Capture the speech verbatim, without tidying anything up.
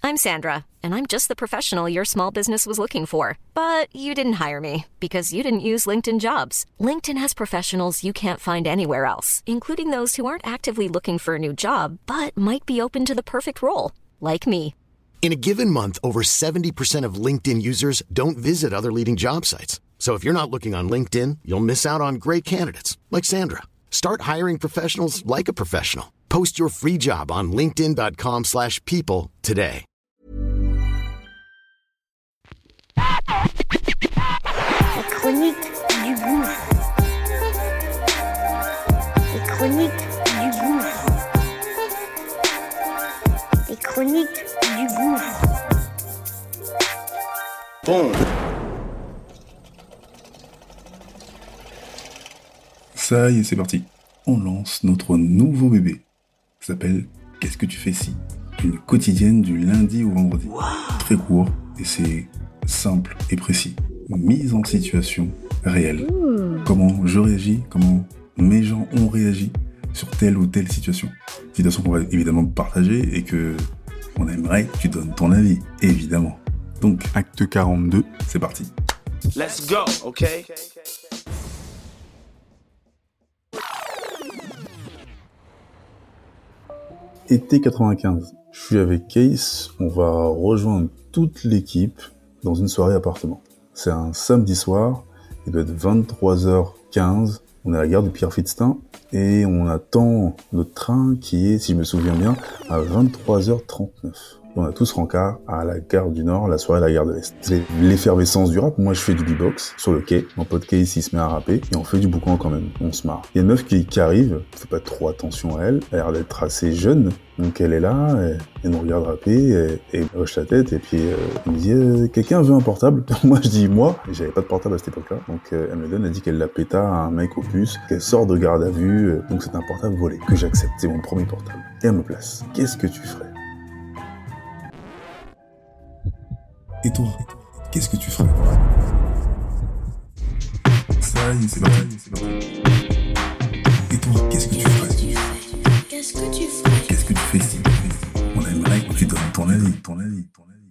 I'm Sandra, and I'm just the professional your small business was looking for. But you didn't hire me because you didn't use LinkedIn Jobs. LinkedIn has professionals you can't find anywhere else, including those who aren't actively looking for a new job, but might be open to the perfect role, like me. In a given month, over seventy percent of LinkedIn users don't visit other leading job sites. So if you're not looking on LinkedIn, you'll miss out on great candidates like Sandra. Start hiring professionals like a professional. Post your free job on linkedin.com slash people today. La chronique du gouffre. Les chroniques du gouffre. Les chroniques du gouffre. Bon. Ça y est, c'est parti. On lance notre nouveau bébé. Ça s'appelle « Qu'est-ce que tu fais si ?» Une quotidienne du lundi au vendredi. Wow. Très court et c'est simple et précis. Mise en situation réelle. Mmh. Comment je réagis, comment mes gens ont réagi sur telle ou telle situation. Situation qu'on va évidemment partager et que on aimerait que tu donnes ton avis, évidemment. Donc, acte quarante-deux, c'est parti. Let's go, ok? Été quatre-vingt-quinze. Je suis avec Case, on va rejoindre toute l'équipe dans une soirée appartement. C'est un samedi soir, il doit être vingt-trois heures quinze, on est à la gare du Pierre-Fitztin et on attend notre train qui est, si je me souviens bien, à vingt-trois heures trente-neuf. On a tous rencard à la gare du Nord, la soirée à la gare de l'Est. C'est l'effervescence du rap. Moi, je fais du beatbox sur le quai. Mon pote Case, il se met à rapper et on fait du boucan quand même. On se marre. Il y a une meuf qui, qui arrive. On fait pas trop attention à elle. Elle a l'air d'être assez jeune. Donc, elle est là. Elle, elle nous regarde rapper et, et elle hoche la tête. Et puis, euh, elle me dit euh, quelqu'un veut un portable? Moi, je dis moi. Et j'avais pas de portable à cette époque-là. Donc, euh, elle me donne. Elle dit qu'elle l'a péta à un mec au puce. Qu'elle sort de garde à vue. Euh, donc, c'est un portable volé que j'accepte. C'est mon premier portable. Et elle me place. Qu'est-ce que tu ferais? Et toi, qu'est-ce que tu ferais? Ça y est, c'est parti, c'est parti. Et toi, qu'est-ce que tu ferais? Qu'est-ce que tu ferais? Qu'est-ce que tu fais si on aimerait que tu donnes ton avis, ton avis, ton avis.